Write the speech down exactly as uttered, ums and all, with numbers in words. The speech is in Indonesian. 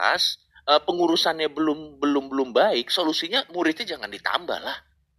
kelas, eh, pengurusannya belum belum belum baik, solusinya muridnya jangan ditambah lah.